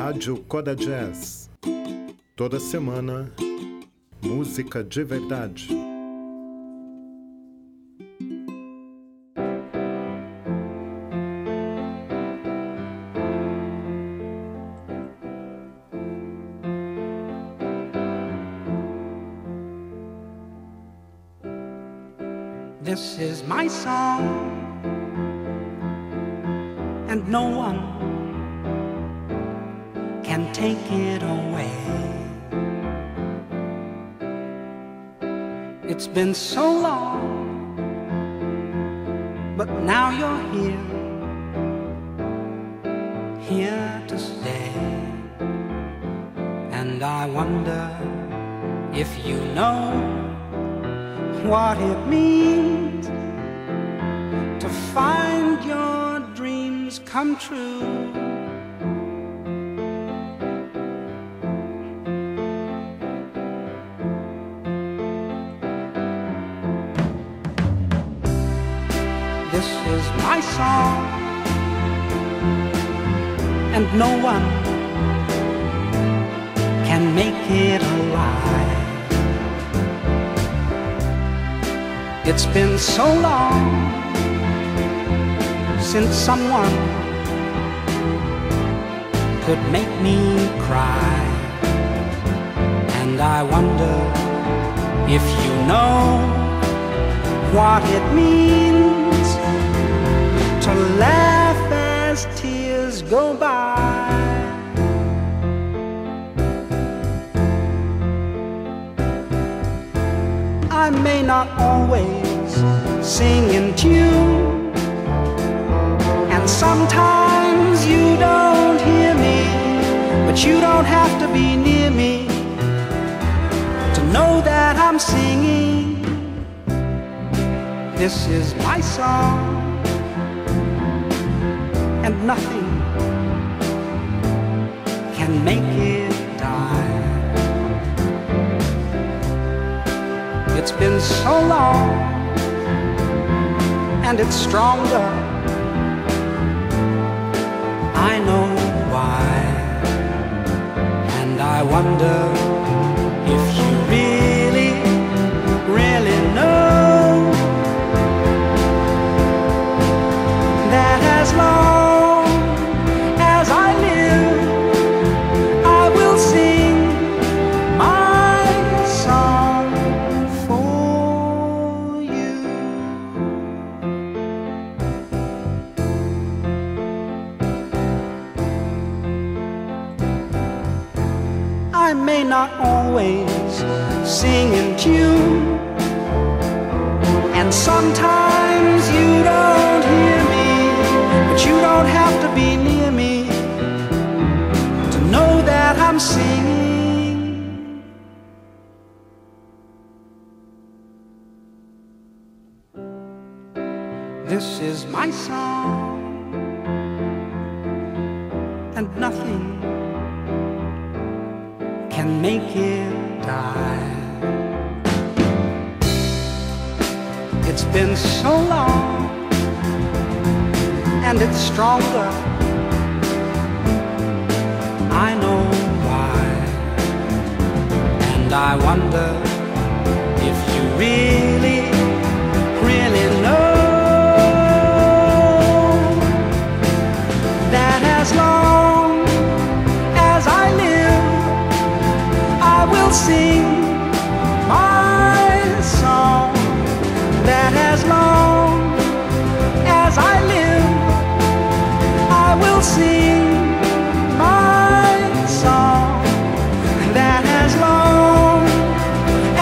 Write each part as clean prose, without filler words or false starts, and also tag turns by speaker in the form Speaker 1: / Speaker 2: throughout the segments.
Speaker 1: Rádio Coda Jazz. Toda semana, música de verdade.
Speaker 2: This is my song, and no one can take it away. It's been so long, but now you're here to stay. And I wonder if you know what it means to find your dreams come true. This is my song, and no one can make it alive. It's been so long since someone could make me cry. And I wonder if you know what it means to laugh as tears go by. I may not always sing in tune, and sometimes you don't hear me, but you don't have to be near me to know that I'm singing. This is my song, and nothing can make it die. It's been so long, and it's stronger. I know why, and I wonder if you really, really know that as long as I live, I will sing my song for you. I may not always sing in tune, and sometimes you don't hear me, but you don't have to be near me to know that I'm singing. This is my song, and nothing can make it die. It's been so long, and it's stronger. I know why, and I wonder if you really, really know that as long as I live, I will sing my song. That as long as I live, I will sing my song. That as long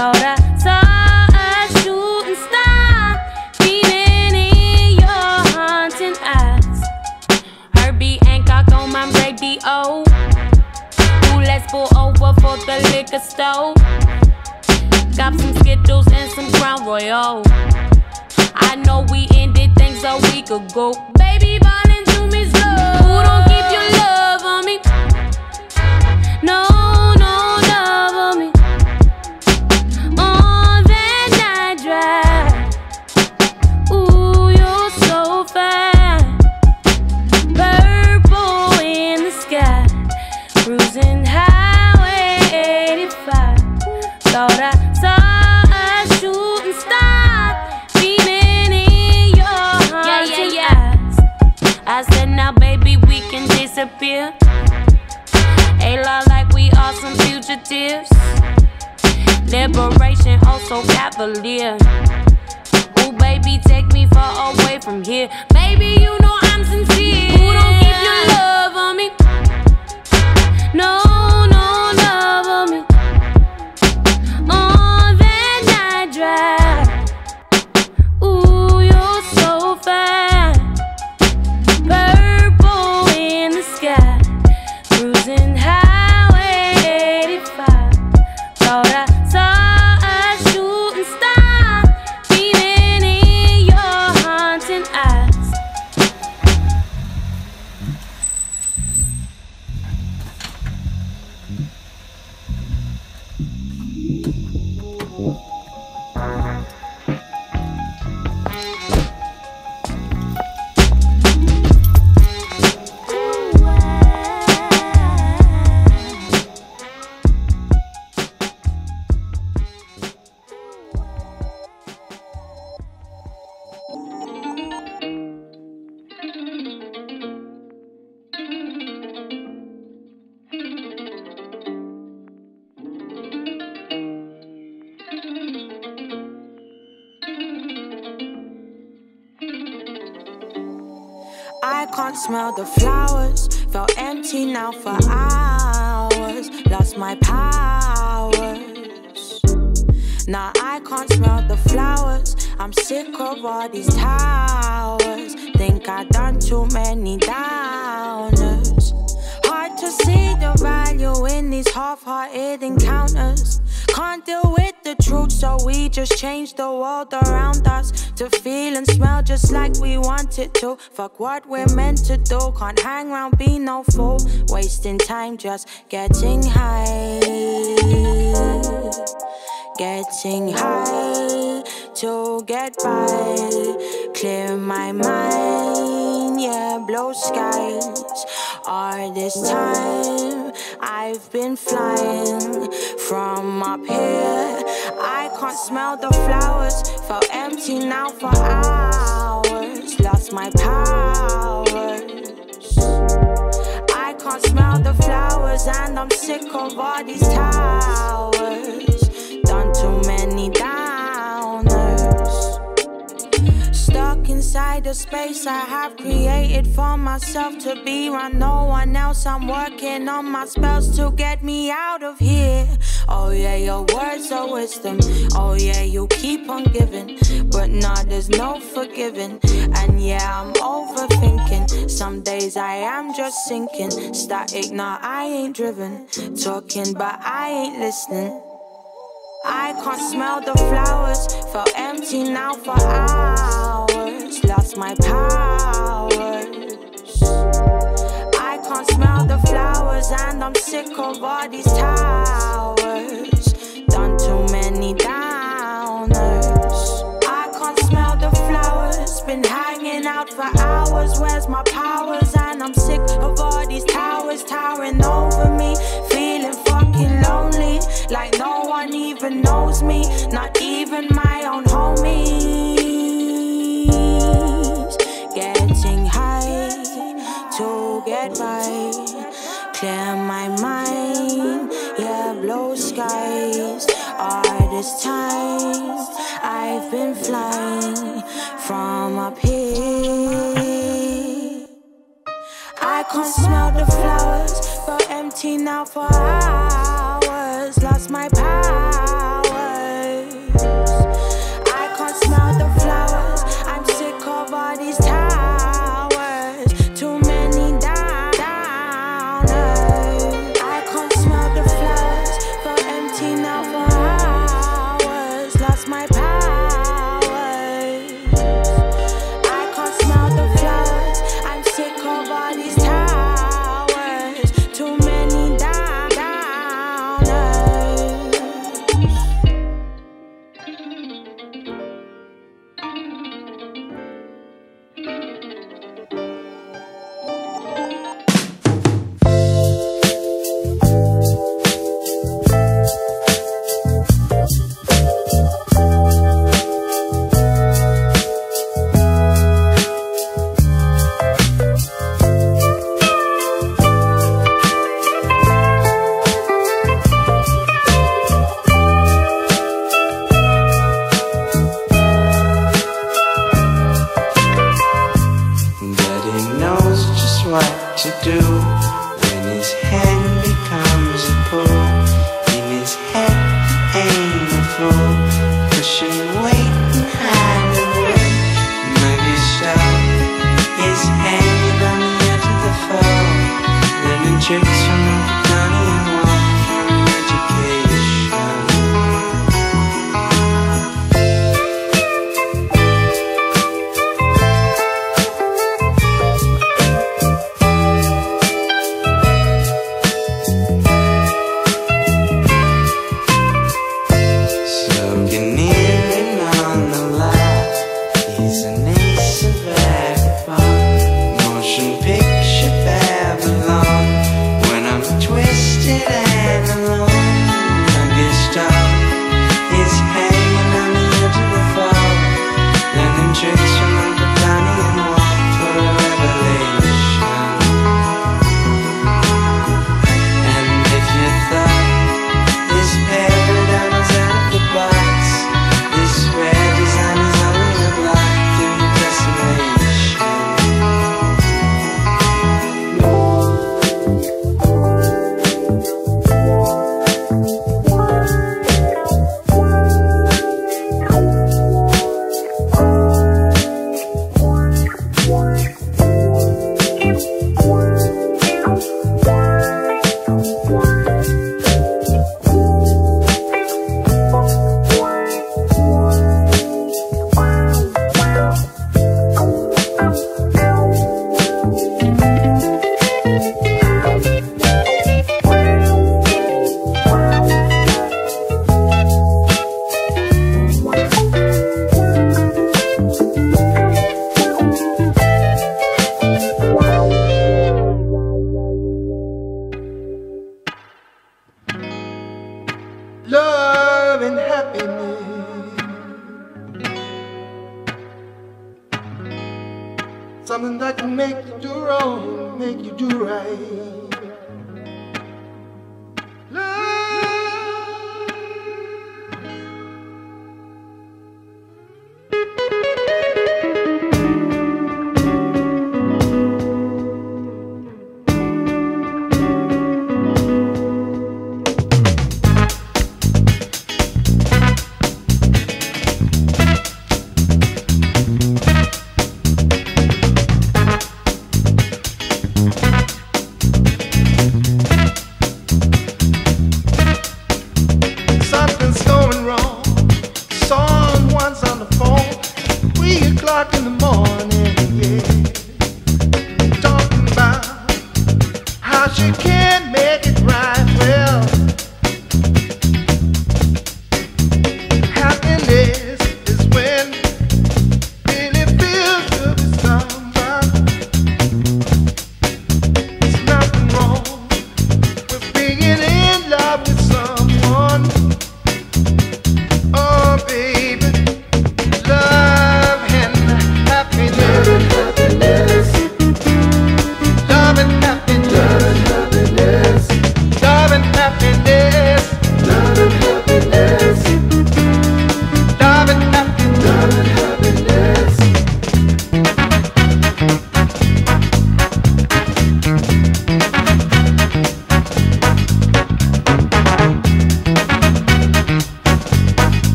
Speaker 3: Thought I saw a shooting star beaming in your haunting eyes. Herbie Hancock on my radio. Ooh, let's pull over for the liquor store. Got some Skittles and some Crown Royal. I know we ended things a week ago. Baby, ballin' to me slow. Who don't keep your love on me? No, no love on me. On that night drive. Ooh, you're so fine. Purple in the sky. Cruising highway 85. Thought I saw a shooting star beaming in your haunted eyes. I said, now baby, we can disappear. A lot like we are some fugitives. Liberation, oh so cavalier. Ooh, baby, take me far away from here. Baby, you know I'm sincere. Who don't keep your love on me? No, no love on me. On that night drive. Ooh, you're so fine. Purple in the sky. Cruising highway 85. Thought I saw a shooting star beaming in your haunting eyes.
Speaker 4: I can't smell the flowers. Felt empty now for hours. Lost my powers. Now I can't smell the flowers. I'm sick of all these towers. Think I done too many downers. Hard to see the value in these half-hearted encounters. Can't deal with the truth, so we just change the world around us to feel and smell just like we want it to. Fuck what we're meant to do. Can't hang around, be no fool. Wasting time just getting high. Getting high to get by. Clear my mind, yeah, blue skies. All this time I've been flying from up here. I can't smell the flowers. Felt empty now for hours. Lost my powers. I can't smell the flowers, and I'm sick of all these towers. Done too many downers. Stuck inside the space I have created for myself to be around no one else. I'm working on my spells to get me out of here. Oh yeah, your words are wisdom. Oh yeah, you keep on giving, but nah, there's no forgiving. And yeah, I'm overthinking. Some days I am just sinking. Static, nah, I ain't driven. Talking, but I ain't listening. I can't smell the flowers. Felt empty now for hours. Lost my powers. I can't smell the flowers, and I'm sick of all these towers. Done too many downers. I can't smell the flowers. Been hanging out for hours. Where's my powers? And I'm sick of all these towers towering over me. Feeling fucking lonely, like no one even knows me. Not even my own homies. Getting high to get by. Clear my mind, yeah, blue skies. All this time I've been flying from up here. I can't smell the flowers, but empty now for hours. Lost my powers.
Speaker 5: something that can make you do wrong, make you do right.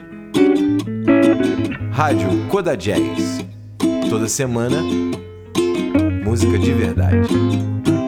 Speaker 6: Rádio Coda Jazz. Toda semana, música de verdade.